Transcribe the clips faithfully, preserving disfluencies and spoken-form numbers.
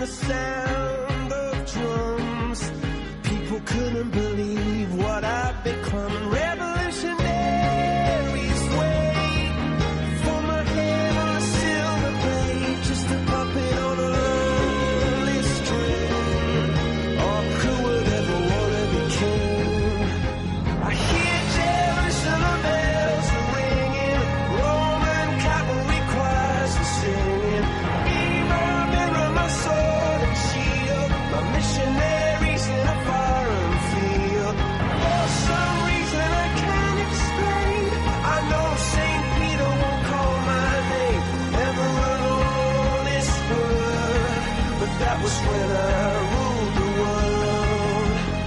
the sound of drums. People couldn't believe what I'd become. Revolutionaries wait for my head on a silver blade, just a puppet on a lonely string. Oh, who would ever wanna be king? I hear Jerusalem bells are ringing, Roman cavalry choirs are singing. Mirror, mirror, my sword and shield, my missionaries in a foreign field. For some reason I can't explain, I know Saint Peter won't call my name ever on this word, but that was when I ruled the world.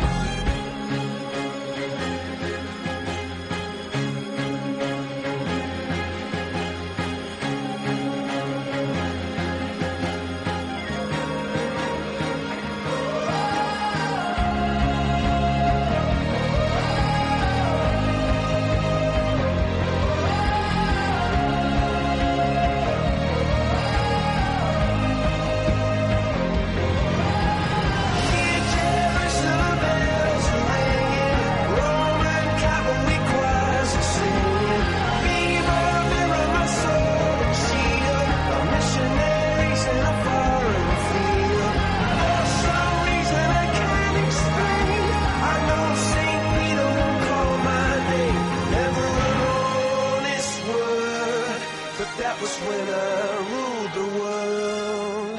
Hear Jerusalem bells are ringing, Roman cavalry choirs are singing. Mirror, mirror, my sword and shield, my missionaries in a foreign field. For some reason I can't explain, I know Saint Peter won't call my name ever on this word, but that was when I ruled the world.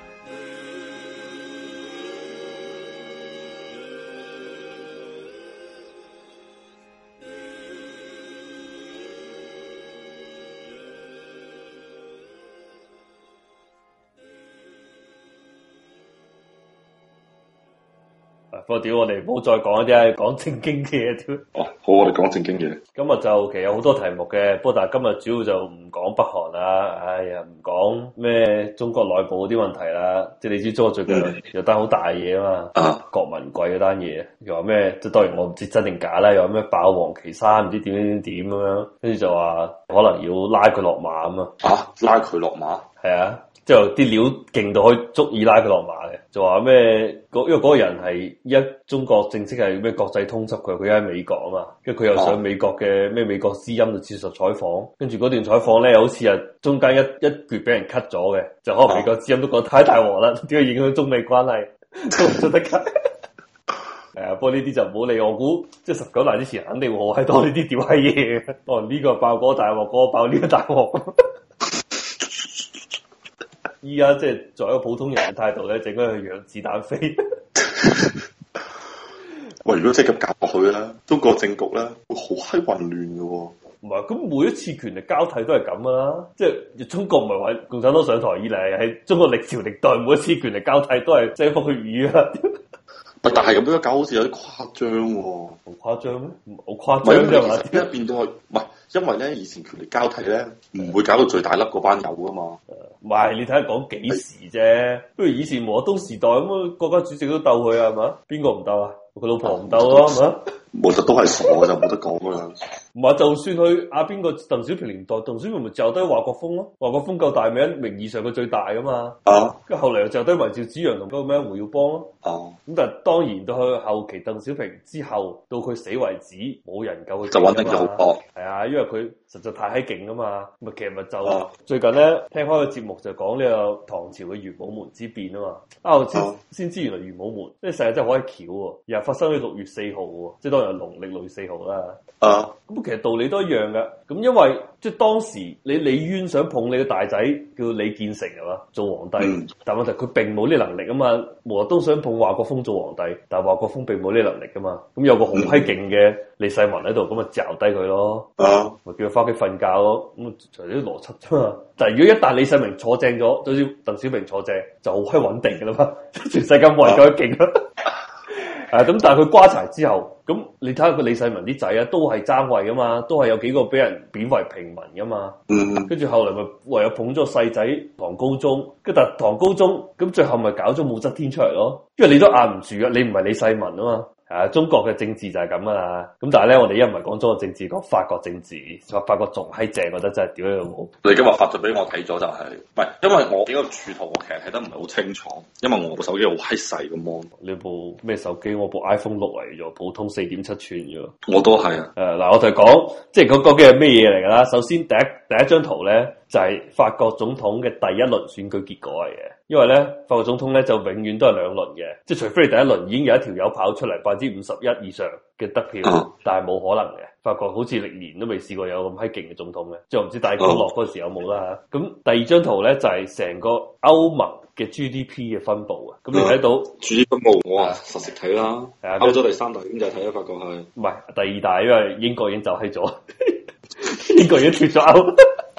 不過屌，我哋唔好再講一啲講正經嘅嘢屌。 哦，好，我哋講正經嘢。 今日就其實有好多題目嘅，不過但係今日主要就唔講北韓啦，哎呀唔講咩中國內部嗰啲問題啦，即係你知中國最近有單好大嘢啊嘛， 啊郭文貴嗰單嘢，又話咩？即係當然我唔知真定假啦，又話咩爆王岐山唔知點點點咁樣，跟住就話可能要拉佢落馬咁啊， 啊，拉佢落馬。 係啊。之後啲料勁到可以足以拉佢落馬嘅，就話咩？因為嗰個人係一中國正式係咩國際通緝佢，佢而家喺美國啊嘛，跟住佢又上美國嘅咩美國之音度接受採訪，跟住嗰段採訪咧，好似係中間一一橛俾人 cut 咗嘅，就可能美國之音都覺得太大鑊啦，點解影響中美關係都唔出得 cut？ 係啊，不過呢啲就唔好理，我估即係十九大之前肯定會好閪多呢啲屌閪嘢嘅，哦呢個爆嗰個大鑊，嗰個爆呢個大鑊。依家即係作為一個普通人嘅態度咧，就應該去讓子彈飛。 喂，如果即係咁搞落去咧，中國政局咧會好閪混亂嘅喎。 唔係，咁每一次權力交替都係咁噶啦。即係中國唔係話共產黨上台以嚟，係中國歷朝歷代每一次權力交替都係腥風血雨啊。 但係咁樣搞好似有啲誇張喎。 好誇張咩？好誇張啫嘛？ 點解變到係唔係？因為咧以前權力交替咧唔會搞到最大粒嗰班友噶嘛。 唔係，你睇下講幾時啫？不如以前毛澤東時代咁啊，國家主席都鬥佢啊，係嘛？邊個唔鬥啊？佢老婆唔鬥咯，係嘛？ 毛澤東係傻嘅就冇得講噶啦。 唔係，就算佢阿邊個鄧小平年代，鄧小平咪就低華國鋒咯。華國鋒夠大名，名義上佢最大噶嘛。啊！跟住後嚟又就低埋趙紫陽同嗰個咩胡耀邦咯。哦、啊。咁但係當然到去後期鄧小平之後，到佢死為止，冇人夠佢。就穩定咗好多。係啊，因為佢實在太閪勁啊嘛。咪其實咪就、啊、最近咧聽開個節目就講呢個唐朝嘅玄武門之變啊嘛。啊，我先先、啊、知原來玄武門呢個世界真係好閪巧喎，又係發生喺六月四號喎，即係當然係農曆六月四號啦。啊。咁其實道理都一樣噶，咁因為即係當時你李淵想捧你個大仔叫李建成係嘛做皇帝，嗯、但問題佢並冇呢能力啊嘛。毛澤東想捧華國鋒做皇帝，但係華國鋒並冇呢能力噶嘛。咁有個好閪勁嘅李世民喺度，咁咪嚼低佢咯，咪、啊、叫佢翻屋企瞓覺咯。咁除咗啲邏輯啫嘛。但係如果一旦李世民坐正咗，就好似鄧小平坐正，就好閪穩定噶啦嘛。全世界冇人夠得勁啦。誒咁，但係佢瓜柴之後，咁你睇下佢李世民啲仔啊，都係爭位噶嘛，都係有幾個俾人貶為平民噶嘛。嗯，跟住後嚟咪唯有捧咗個細仔唐高宗，跟住但唐高宗咁最後咪搞咗武則天出嚟咯，因為你都壓唔住啊，你唔係李世民啊嘛。 啊，中國嘅政治就係咁噶啦。咁但係咧，我哋一唔係講中國政治，講法國政治，法法國仲閪正，覺得真係屌你老母。 你今日發咗俾我睇咗就係、是，唔係因為我幾個柱圖我其實睇得唔係好清楚，因為我部手機好閪細個 mon。 你部咩手機？我部 iPhone 六嚟咗，普通四點七寸嘅。 我都係啊。 誒嗱、呃，我就講，即係嗰嗰嘅係咩嘢嚟㗎啦？首先第一第一張圖咧，就係、是、法國總統嘅第一輪選舉結果嚟嘅。因為咧，法國總統咧就永遠都係兩輪嘅，即係除非你第一輪已經有一條友跑出嚟百分之五十一以上嘅得票，嗯、但係冇可能嘅。法國好似歷年都未試過有咁閪勁嘅總統嘅，即係我唔知戴高樂嗰時有冇啦嚇。咁、嗯、第二張圖咧就係、是、成個歐盟嘅 G D P 嘅分佈啊。咁你睇到 G D P 分佈，我話實時睇啦。係啊，歐洲第三大經濟體啊，法國係唔係第二大？因為英國已經走閪咗，英國已經脫咗歐。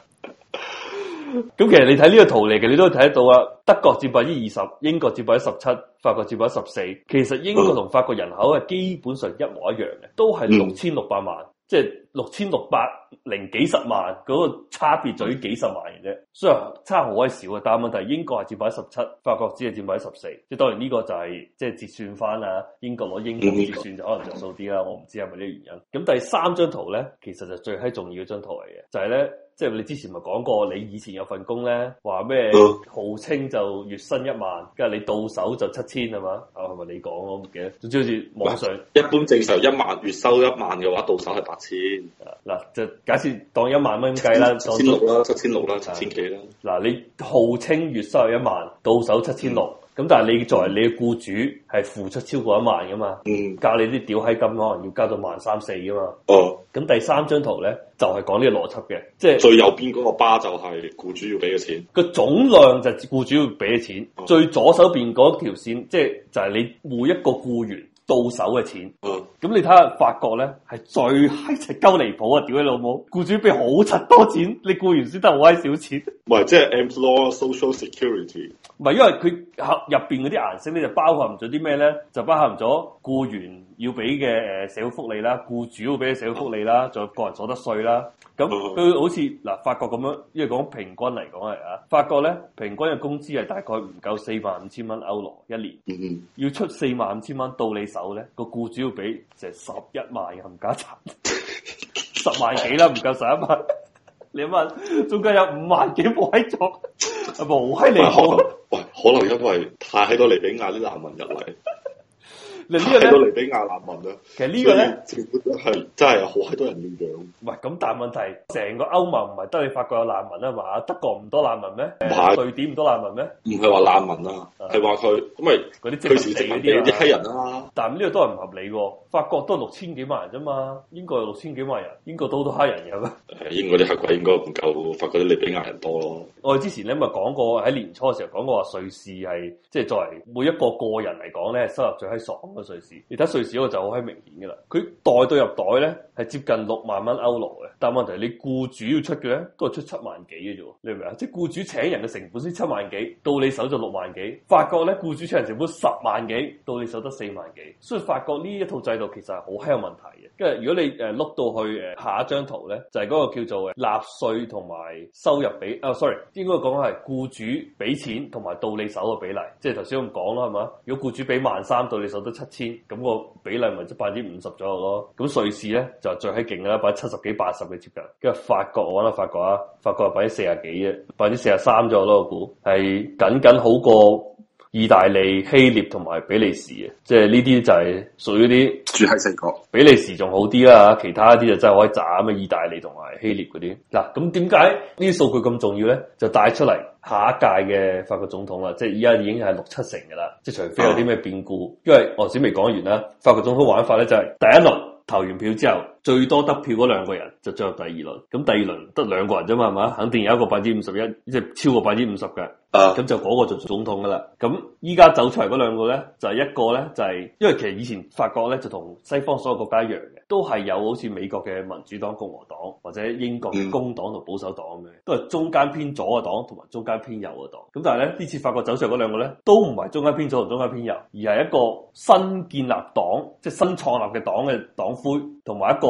咁其實你睇呢個圖嚟嘅，你都睇得到啊。德國佔百分之二十，英國佔百分之十七，法國佔百分之十四。其實英國同法國人口係基本上一模一樣嘅，都係六千六百萬，嗯、即係六千六百零幾十萬嗰、那個差別在於幾十萬嘅啫。雖然差好鬼少嘅，但係問題英國係佔百分之十七，法國只係佔百分之十四。即係當然呢個就係、是、即係折算翻啊，英國攞英鎊折算就可能着數啲啦。我唔知係咪呢個原因。咁第三張圖咧，其實就最閪重要嘅張圖嚟嘅，就係、是、咧。即係你之前咪講過，你以前有份工咧，話咩號稱就月薪一萬，跟住你到手就七千係嘛？啊係咪你講我唔記得。總之好似網上一般正常一萬月收一萬嘅話，到手係八千。 嗱就假設當一萬蚊咁計啦， 七千六啦，七千六啦，七千幾啦。 嗱你號稱月收一萬，到手七千六。咁但係你作為你嘅僱主係付出超過一萬噶嘛？嗯，交你啲屌閪金可能要交到萬三四噶嘛？哦，咁第三張圖咧就係講呢個邏輯嘅，即係最右邊嗰個巴就係僱主要俾嘅錢， 個總量就係僱主要俾嘅錢，哦、最左手邊嗰條線即係就係你每一個僱員到手嘅錢。哦，咁你睇下法國咧係最閪柒鳩離譜啊！屌你老母，僱主俾好柒多錢，你僱員先得好閪少錢。 唔係，即係 employer social security。 唔係，因為佢合入邊嗰啲顏色咧就包含咗啲咩咧？就包含咗僱員要俾嘅誒社會福利啦，僱主要俾嘅社會福利啦，仲有個人所得稅啦。咁佢好似嗱法國咁樣，因為講平均嚟講係啊，法國咧平均嘅工資係大概唔夠四萬五千蚊歐羅一年，嗯嗯要出四萬五千蚊到你手咧，個僱主要俾成十一萬嘅冚家鏟，十萬幾啦，唔夠十一萬。你問中間有五萬幾冇喺做，係咪好閪離譜？ 喂，可能因為太多利比亞啲難民入嚟。 你呢個咧， 太多利比亞難民啦。 其實個呢個咧， 政府真係真係有好閪多人要養。 唔係咁，但係問題，成個歐盟唔係得你法國有難民啊嘛？德國唔多難民咩？ 唔係瑞典唔多難民咩？ 唔係話難民啊，係話佢咁咪嗰啲佢時殖民地嗰啲黑人啊。 但係呢個都係唔合理喎。法國都係六千幾萬人啫嘛，英國有六千幾萬人，英國都好多黑人嘅咩？ 誒，英國啲黑鬼應該唔夠法國啲利比亞人多咯。 我哋之前咧咪講過喺年初嘅時候講過話瑞士係即係作為每一個個人嚟講咧收入最閪爽嘅瑞士。你睇瑞士嗰個就好閪明顯嘅啦，佢袋對入袋咧係接近六萬蚊歐羅嘅，但係問題你僱主要出嘅咧都係出七萬幾嘅啫，你明唔明啊？即係僱主請人嘅成本先七萬幾，到你手就六萬幾。法國咧僱主請人成本十萬幾，到你手得四萬幾，所以法國呢一套制度其實係好閪有問題嘅。跟住如果你誒碌到去誒下一張圖咧，就係、是、嗰個叫做誒納稅同埋收入比啊、哦、，sorry， 應該講係僱主俾錢同埋到你手嘅比例，即係頭先咁講啦，係嘛？如果僱主俾萬三，到你手得七千，咁、那個比例咪即百分之五十左右咯。咁瑞士咧就最閪勁啦，百分之七十幾、八十嘅接近。跟住法國我揾下法國啊，法國係百分之四十幾嘅，百分之四十三左右咯，我估係僅僅好過意大利、希臘同埋比利時嘅，即係呢啲就係屬於啲住喺四國。 比利時仲好啲啦，其他啲就真係可以斬咩意大利同埋希臘嗰啲。嗱，咁點解呢啲數據咁重要咧？就帶出嚟下一屆嘅法國總統啦，即係依家已經係六七成噶啦，即係除非有啲咩變故，因為我先未講完啦。法國總統玩法咧就係第一輪投完票之後，最多得票嗰兩個人就進入第二輪，咁第二輪得兩個人啫嘛，係嘛？肯定有一個百分之五十一，即係超過百分之五十嘅。咁、uh, 就嗰個就做總統噶啦。咁依家走出嚟嗰兩個咧，就係、是、一個咧就係、是，因為其實以前法國咧就同西方所有國家一樣嘅，都係有好似美國嘅民主黨、共和黨或者英國嘅工黨同保守黨嘅，都係中間偏左嘅黨同埋中間偏右嘅黨。咁但係咧呢次法國走出嚟嗰兩個咧，都唔係中間偏左同中間偏右，而係一個新建立黨，即係新創立嘅黨嘅黨魁，同埋一個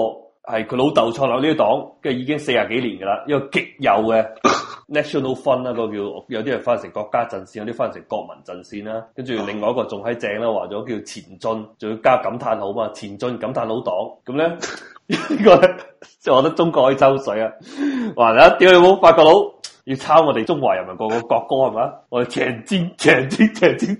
係佢老豆創立呢個黨，跟住已經四十幾年噶啦，一個極右嘅 National Front 啦，嗰個叫有啲人翻成國家陣線，有啲翻成國民陣線啦。跟住另外一個仲喺正啦，話咗叫前進，仲要加感嘆號嘛，前進感嘆號黨。咁咧呢個咧，即係我覺得中國可以抽水啊！話啦，屌你冇法國佬要抄我哋中華人民國個國歌係嘛？我哋前進前進前進。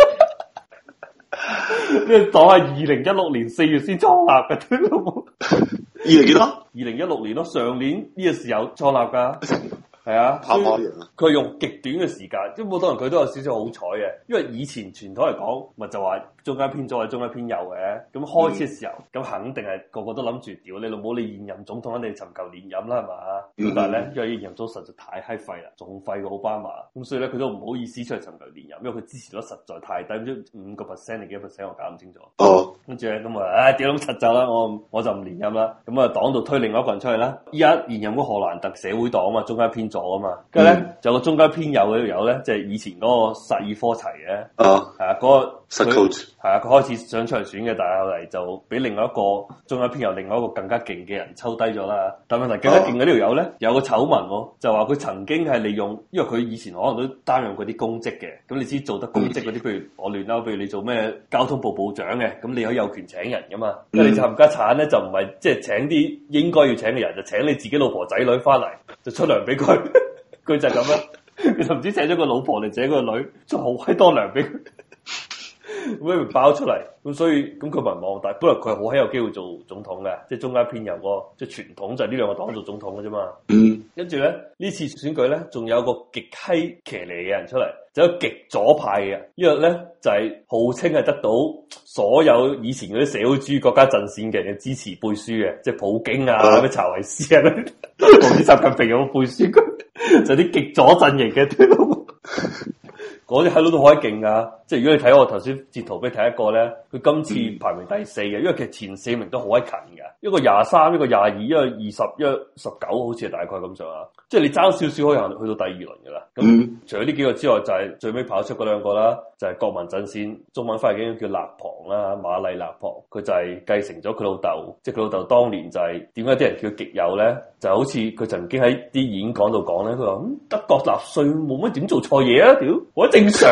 呢個黨係二零一六年四月先創立嘅，都冇。 二零幾多？ 二零一六年咯，上年呢個時候創立噶。係啊，佢用極短嘅時間，即係好多人佢都有少少好彩嘅，因為以前傳統嚟講，咪就話中間偏左或者中間偏右嘅，咁開始嘅時候，咁、嗯、肯定係個個都諗住屌你老母，你現任總統肯定尋求連任啦，係嘛？咁、嗯、但係咧，因為現任總統實在太閪廢啦，仲廢過奧巴馬，咁所以咧佢都唔好意思出嚟尋求連任，因為佢支持率實在太低，唔知五個 percent 定幾多 percent，我搞唔清楚。哦，跟住咧咁啊，唉屌咁柒就啦，我我就唔連任啦，咁啊黨度推另外一個人出嚟啦，依家現任嗰荷蘭特社會黨啊嘛，中間偏左啊嘛，跟住咧。嗯就有個中間偏右嘅條友咧，即係以前嗰個薩爾科齊嘅，啊，係啊，嗰、那個佢係啊，佢開始想出嚟選嘅，但係後嚟就俾另外一個中間偏右、另外一個更加勁嘅人抽低咗啦。但問題更加勁嘅呢條友咧，有個醜聞喎，就話佢曾經係利用，因為佢以前可能都擔任過啲公職嘅，咁你知做得公職嗰啲，譬如我亂啦，譬如你做咩交通部部長嘅，咁你可以有權請人噶嘛，因為你冚家產咧就唔係即係請啲應該要請嘅人，就請你自己老婆仔女翻嚟，就出糧俾佢。佢就係咁啦，佢就唔知請咗個老婆定請個女，出好閪多糧俾佢，咁咪爆出嚟，咁所以咁佢民望大，本來佢好閪有機會做總統嘅，即係中間偏右嗰個，即係傳統就係呢兩個黨做總統嘅啫嘛。嗯，跟住咧呢次選舉咧，仲有個極閪騎呢嘅人出嚟，就有極左派嘅，因為咧就係、是、號稱係得到所有以前嗰啲社會主義國家陣線嘅人嘅支持背書嘅，即係普京啊、咩查韋斯啊，同啲習近平有冇背書佢，就啲極左陣營嘅。嗰啲喺度都好閪勁噶，即係如果你睇我頭先截圖俾你睇一個咧，佢今次排名第四嘅，因為其實前四名都好閪近嘅，一個廿三，一個廿二，一個二十，一個十九，好似係大概咁上下，即係你爭少少可以行去到第二輪噶啦。咁、嗯、除咗呢幾個之外，就係、是、最尾跑出嗰兩個啦，就係、是、國民陣線，中文翻譯叫勒龐啦，馬麗勒龐，佢就係繼承咗佢老豆，即係佢老豆當年就係點解啲人叫極右咧？就好似佢曾經喺啲演講度講咧，佢話、嗯、德國納粹冇乜點做錯嘢啊，屌，我正常。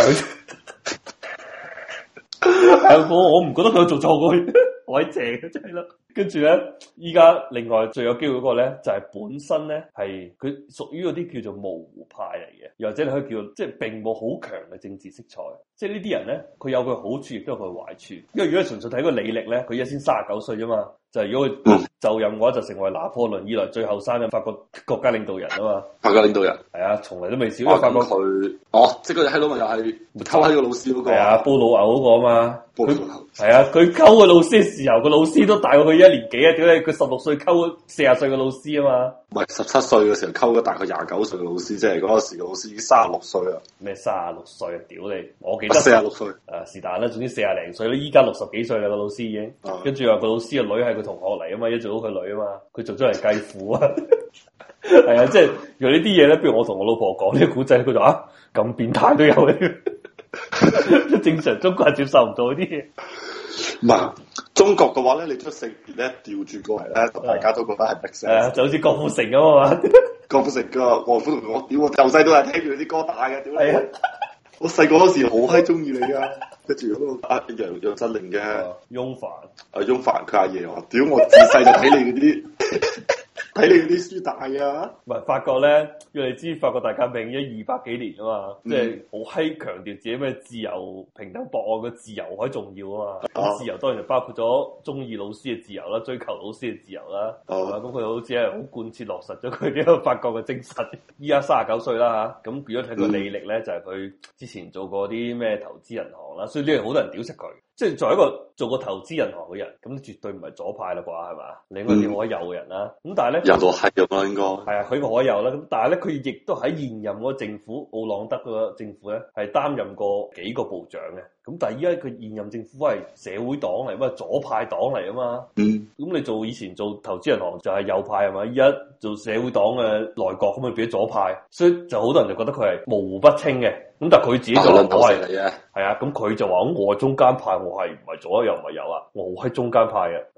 係我我唔覺得佢有做錯過，我喺正嘅真係啦。跟住咧，依家另外最有機會嗰個咧，就係、是、本身咧係佢屬於嗰啲叫做模糊派嚟嘅，又或者你可以叫即係並冇好強嘅政治色彩。即係呢啲人咧，佢有佢好處，亦都有佢壞處。因為如果純粹睇個履歷咧，佢而家先三十九歲啫嘛。就係如果佢就任嘅話，就成為拿破崙以來最後生嘅法國國家領導人啊嘛！法國領導人係啊，從嚟都未少。因為法國佢哦，即係嗰隻閪佬咪又係溝閪個老師嗰個係啊，煲老牛嗰個啊嘛。煲老牛係啊，佢溝個老師嘅時候，個老師都大過佢一年幾啊！點解佢十六歲溝四十歲嘅老師啊嘛？唔係十七歲嘅時候溝咗大概廿九歲嘅老師，即係嗰時嘅老師已經三十六歲啦。咩三十六歲啊？屌你！我記得四十六歲啊，是但啦，總之四廿零歲啦。依家六十幾歲啦，個老師已經。跟住話個老師嘅女係佢同學嚟啊嘛，一做到佢女啊嘛，佢做咗嚟繼父啊。係啊，即係用呢啲嘢咧，比如我同我老婆講呢個古仔，佢就啊咁變態都有嘅。正常中國人接受唔到呢啲嘢。唔係中國嘅話咧，你將性別咧調轉過嚟咧，大家都覺得係逼死。係啊，就好似郭富城咁啊嘛。郭富城個岳父同我屌，我由細都係聽住啲歌大嘅，屌你！我細個嗰時好閪中意你噶，跟住嗰個阿楊楊振寧嘅翁帆，阿翁帆佢阿爺話：屌我自細就睇你嗰啲。睇你啲書大啊！唔係法國咧，因為你知法國大革命一二百幾年啊嘛，嗯、即係好閪強調自己咩自由、平等、博愛嘅自由好重要啊嘛。咁、啊、自由當然就包括咗中意老師嘅自由啦，追求老師嘅自由啦。咁佢、啊、好似係好貫徹落實咗佢呢個法國嘅精神。依家三十九歲啦嚇，咁如果睇佢履歷咧，就係佢之前做過啲咩投資銀行啦，所以呢樣好多人屌食佢。即係作為一個做過投資銀行嘅人，咁絕對唔係左派啦啩，係嘛？你應該點可以右嘅人啦。咁、嗯、但係咧，右到閪咁啦，應該係啊，佢個可以右啦。咁但係咧，佢亦都喺現任嗰個政府奧朗德嗰個政府咧，係擔任過幾個部長嘅。咁但係依家佢現任政府係社會黨嚟，乜左派黨嚟啊嘛。嗯。咁你做以前做投資銀行就係右派係嘛？依家做社會黨嘅內閣咁咪變咗左派，所以就好多人就覺得佢係模糊不清嘅。咁但係佢自己就話我係係啊，咁佢就話咁我係中間派，我係唔係左又唔係右啊，我係中間派嘅。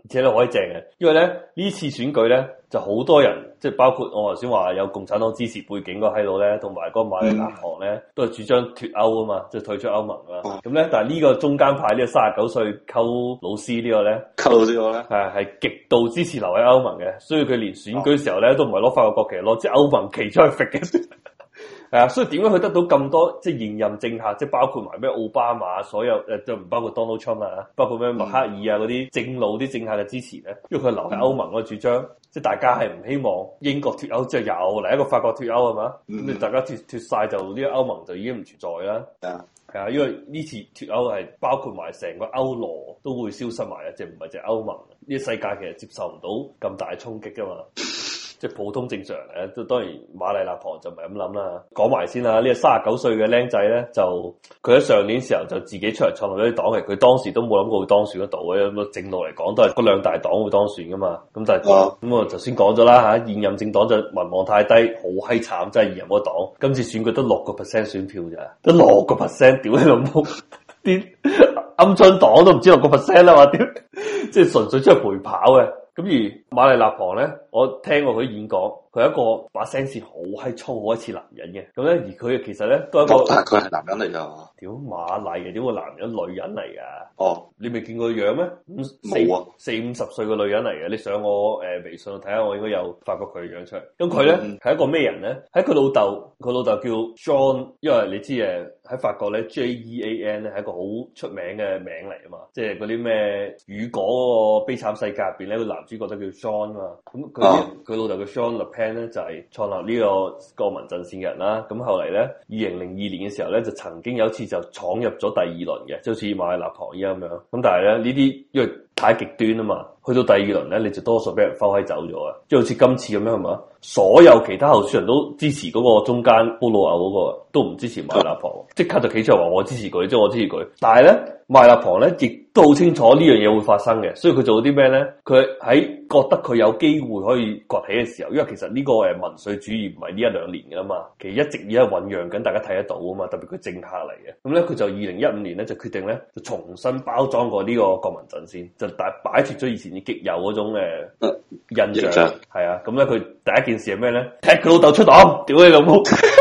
而且咧可以正嘅，因為咧呢次選舉咧就好多人，即係包括我頭先話有共產黨支持背景嗰個閪佬咧，同埋嗰個馬里納旁咧，都係主張脫歐啊嘛，即係退出歐盟啊。咁咧，但係呢個中間派呢個三十九歲溝老師呢個咧， 溝老師個咧係係極度支持留喺歐盟嘅，所以佢連選舉時候咧都唔係攞法國國旗，攞支歐盟旗出去揈嘅。係啊，所以點解佢得到咁多即係現任政客，即係包括埋咩奧巴馬，所有誒就唔包括 Donald Trump 啊，包括咩默克爾啊嗰啲正路啲政客嘅支持咧？因為佢留喺歐盟嗰個主張，嗯、即係大家係唔希望英國脫歐之後又嚟一個法國脫歐係嘛？咁你、嗯、大家脫脫曬就呢個歐盟就已經唔存在啦。係啊、嗯，係啊，因為呢次脫歐係包括埋成個歐羅都會消失埋嘅，即係唔係淨係歐盟呢個世界其實接受唔到咁大嘅衝擊㗎嘛。即係普通正常人咧，都當然馬麗納旁就唔係咁諗啦。講埋先啦，呢個三十九歲嘅僆仔咧，就佢喺上年時候就自己出嚟創立咗啲黨嘅，佢當時都冇諗過會當選得到嘅。咁啊正路嚟講，都係嗰兩大黨會當選噶嘛。咁但係咁我頭先講咗啦嚇，現任政黨就民望太低，好閪慘，真係現任嗰黨。今次選舉得六個 percent 選票咋，得六個 percent，屌你老母！啲鵪鶉黨都唔知六個 percent 啦嘛，屌！即係純粹出去陪跑嘅。咁而馬麗納旁咧，我聽過佢演講，佢係一個把聲線好閪粗，好似男人嘅。咁咧，而佢其實咧都係一個， 但係佢係男人嚟㗎。 屌馬麗嘅，點會男人女人嚟㗎？ 哦， 你未見過樣咩？ 冇啊， 四五十歲嘅女人嚟嘅。你上我誒、呃、微信度睇下，我應該有發覺佢嘅樣出嚟。咁佢咧係一個咩人咧？喺佢老豆，佢老豆叫 John，因為你知誒喺法國咧 J E A N 咧係一個好出名嘅名嚟啊嘛，即係嗰啲咩雨果嗰個悲慘世界入邊咧個男主角都叫 John 啊嘛。咁佢佢老豆叫 Jean Le Pen 咧就係、是、創立呢個國民陣線嘅人啦。咁後嚟咧二零零二年嘅時候咧就曾經有一次就闖入咗第二輪嘅，就好似馬麗納旁依家咁樣。咁但係咧呢啲因為太極端啊嘛，去到第二輪咧你就多數俾人拋閪走咗啊！即係好似今次咁樣係嘛，所有其他候選人都支持嗰個中間布魯歐嗰個，都唔支持馬麗納旁，即刻就企出嚟話我支持佢，即係我支持佢。但係咧馬麗納旁咧亦都好清楚呢樣嘢會發生嘅，所以佢做啲咩咧？佢喺覺得佢有機會可以崛起嘅時候，因為其實呢個誒民粹主義唔係呢一兩年㗎嘛，其實一直而家醖釀緊，大家睇得到啊嘛。特別佢政客嚟嘅，咁咧佢就二零一五年咧就決定咧就重新包裝過呢個國民陣線，就大擺脫咗以前啲極右嗰種誒、呃、印象，係啊。咁咧佢第一件事係咩咧？踢佢老豆出黨，屌你老母，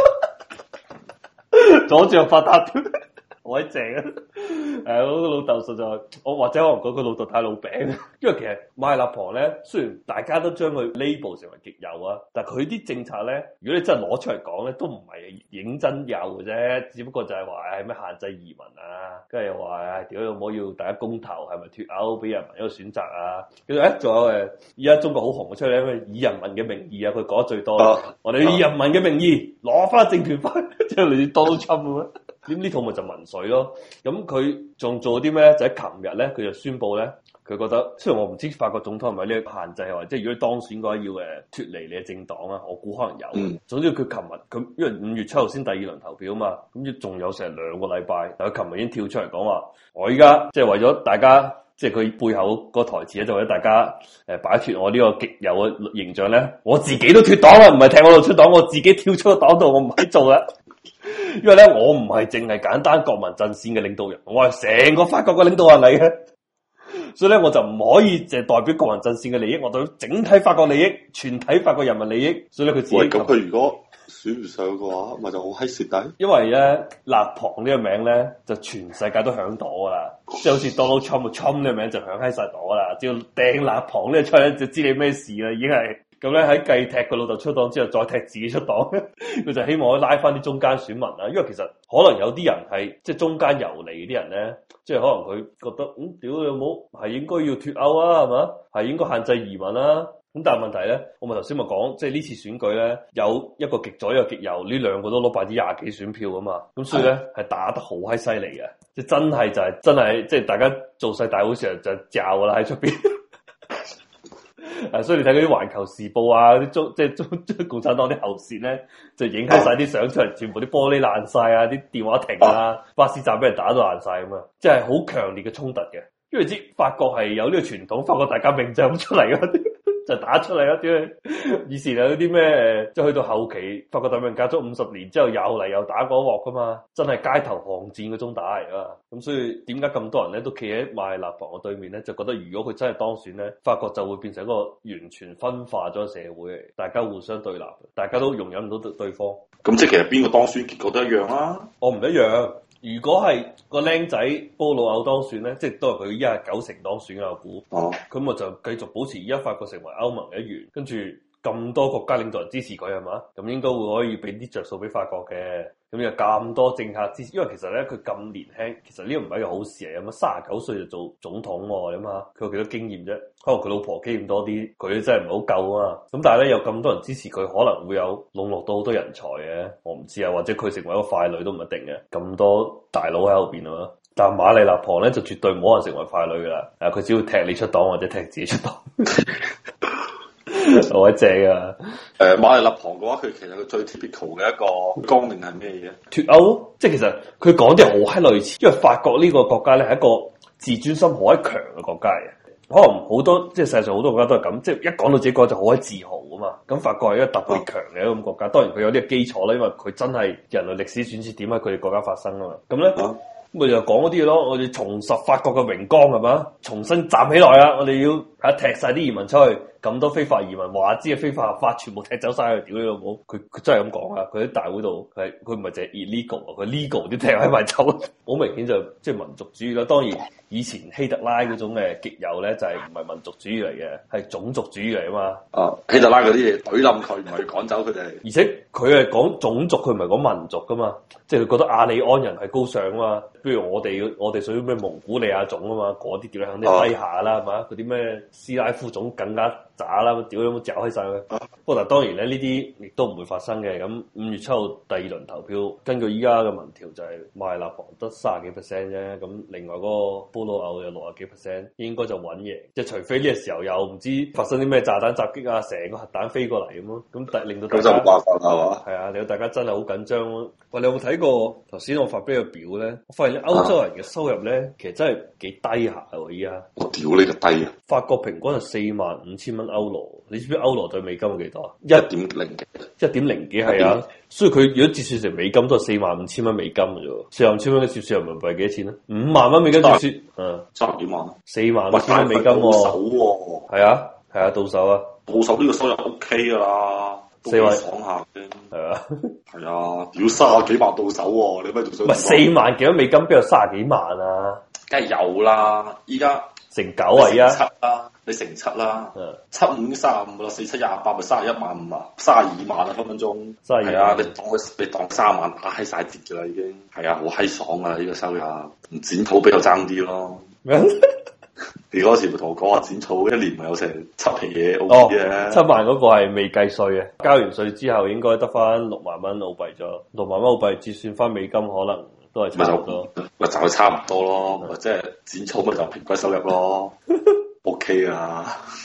阻住我發達。好閪正啊！誒，我個老豆實在，我或者可能講佢老豆太老餅，因為其實馬麗納旁咧，雖然大家都將佢 label 成為極右啊，但係佢啲政策咧，如果你真係攞出嚟講咧，都唔係認真右嘅啫，只不過就係話係咩限制移民啊，跟住又話誒，屌有冇要大家公投係咪脫歐俾人民一個選擇啊？跟住誒，仲有誒，而家中國好紅嘅出嚟，咩以人民嘅名義啊，佢講得最多，啊、我哋以人民嘅名義攞翻政權翻，即係類似 Donald Trump 咁啊！咁呢套咪就民粹咯，咁佢仲做啲咩咧？就喺琴日咧，佢就宣布咧，佢覺得雖然我唔知法國總統係咪呢個限制，或者如果你當選嘅話要誒脫離你嘅政黨啊，我估可能有。嗯、總之佢琴日佢因為五月七號先第二輪投票啊嘛，咁仲有成兩個禮拜，但佢琴日已經跳出嚟講話，我依家即係為咗大家，即係佢背後個台詞咧，就為咗大家誒擺脫我呢個極右嘅形象咧，我自己都脫黨啦，唔係踢我度出黨，我自己跳出個黨度，我唔喺做啦。因為咧，我唔係淨係簡單國民陣線嘅領導人，我係成個法國嘅領導人嚟嘅，所以咧我就唔可以淨係代表國民陣線嘅利益，我代表整體法國利益、全體法國人民利益。所以咧佢自己咁，佢如果選唔上嘅話，咪就好閪蝕底。 因為咧納旁呢個名咧，就全世界都響朵噶啦，即係好似 Donald Trump，Trump 呢個名就響喺晒朵啦，只要掟納旁呢個出嚟就知你咩事啦，已經係。咁咧喺繼踢佢老豆出黨之後，再踢自己出黨，佢就希望可以拉翻啲中間選民啦。因為其實可能有啲人係即係中間游離啲人咧，即係可能佢覺得嗯，屌你老母係應該要脫歐啊，係嘛？係應該限制移民啦。咁但係問題咧，我咪頭先咪講，即係呢次選舉咧有一個極左一個極右，呢兩個都攞百分之廿幾選票啊嘛。咁所以咧係的打得好閪犀利嘅，即係真係就係、是、真係即係大家做晒大會時候就嚼噶啦喺出邊。啊！所以你睇嗰啲《環球時報》啊，啲中即係中中共產黨啲喉舌咧，就影開晒啲相出嚟，全部啲玻璃爛晒啊，啲電話停啊，巴士站俾人打到爛晒咁啊！即係好強烈嘅衝突嘅，因為知法國係有呢個傳統，法國大革命就咁出嚟嘅。 就打出嚟啦！屌你，以前有啲咩誒，即係去到後期，法國大革命隔咗五十年之後又嚟又打嗰鑊噶嘛，真係街頭巷戰嗰種打嚟啊！咁所以點解咁多人咧都企喺馬里勒旁嘅對面咧？就覺得如果佢真係當選咧，法國就會變成一個完全分化咗社會嚟，大家互相對立，大家都容忍唔到對對方。咁即係其實邊個當選結果都一樣啦、啊。 我唔一樣。如果係個僆仔波魯歐當選咧，即係都係佢一係九成當選嘅我估。哦，咁我就繼續保持而家法國成為歐盟嘅一員，跟住咁多國家領導人支持佢係嘛？咁應該會可以俾啲着數俾法國嘅。咁有咁多政客支持，因為其實咧佢咁年輕，其實呢個唔係一個好事嚟。咁啊，三十九歲就做總統喎，你諗下佢有幾多經驗啫？可能佢老婆經驗多啲，佢真係唔係好夠啊嘛。咁但係咧有咁多人支持佢，可能會有籠絡到好多人才嘅。我唔知啊，或者佢成為一個傀儡都唔一定嘅。咁多大佬喺後邊啊嘛。但係馬里勒旁咧就絕對冇可能成為傀儡噶啦。誒，佢只要踢你出黨或者踢自己出黨。好正啊！ 誒，馬里勒旁嘅話，佢其實佢最 typical 嘅一個綱領係咩嘢？ 脫歐，即係其實佢講啲好閪類似，因為法國呢個國家咧係一個自尊心好閪強嘅國家嘅。可能好多即係世界上好多國家都係咁，即係一講到自己國家就好閪自豪啊嘛。咁法國係一個特別強嘅一個國家，當然佢有呢個基礎啦，因為佢真係人類歷史轉折點喺佢哋國家發生啊嘛。咁咧。啊咪就講嗰啲嘢咯，我哋重拾法國嘅榮光係嘛，重新站起來啦！我哋要吓踢晒啲移民出去，咁多非法移民話知嘅非法合法全部踢走晒去，屌你老母！佢佢真係咁講啊！佢喺大會度，佢佢唔係淨係 illegal 啊，佢 legal 啲踢喺埋走，好明顯就即係民族主義啦。當然以前希特拉嗰種嘅極右咧，就係唔係民族主義嚟嘅，係種族主義嚟啊嘛。啊， 希特拉嗰啲嘢懟冧佢，唔係趕走佢哋。 而且佢係講種族，佢唔係講民族噶嘛，即係佢覺得亞利安人係高尚啊嘛。比如我哋我哋屬於咩蒙古利亞種啊嘛，嗰啲屌你肯定低下啦，係嘛、啊？嗰啲咩斯拉夫種更加渣啦，屌你有冇嚼開晒佢？不過嗱，當然咧呢啲亦都唔會發生嘅。咁五月七號第二輪投票，根據依家嘅民調就係馬里勒旁得卅幾 percent 啫。咁另外嗰個波魯歐有六十幾 percent，應該就穩贏。即係除非呢個時候又唔知發生啲咩炸彈襲擊啊，成個核彈飛過嚟咁咯。咁但令到大家冇辦法係嘛？ 係啊，令到大家真係好緊張咯。喂，你有冇睇過頭先我發俾個表咧？我發現歐洲人嘅收入咧，其實真係幾低下喎！依家我屌你個低啊！ 法國平均係四萬五千蚊歐羅，你知唔知歐羅對美金係幾多啊？一點零幾，一點零幾係啊！所以佢如果折算成美金都係四萬五千蚊美金嘅啫，四萬五千蚊嘅折算人民幣係幾多錢咧？五萬蚊美金折算，嗯， 三幾萬， 四萬五千蚊美金喎，係啊，係啊，到手啊， 到手呢個收入 O K 噶啦。 四萬爽下嘅， 係啊， 係啊，屌卅幾萬到手喎、啊，你咩仲想？ 唔係四萬幾蚊美金，邊有卅幾萬啊？ 梗係有啦，依家成九啊，依家七啦，你乘七啦，嗯、七五卅五啦，四七廿八咪卅一萬五啊，卅二萬啊分分鐘，係啊，你當你當三萬打閪晒折噶啦已經，係啊，好閪爽啊呢、這個收入，唔剪土比較爭啲咯。你嗰時咪同我講話剪草一年咪有成七皮嘢澳幣嘅， 七萬嗰個係未計稅嘅，交完稅之後應該得翻六萬蚊澳幣咗，六萬蚊澳幣折算翻美金可能都係差唔多， 咪就係差唔多咯，即係剪草咪就平均收入咯，OK 啊。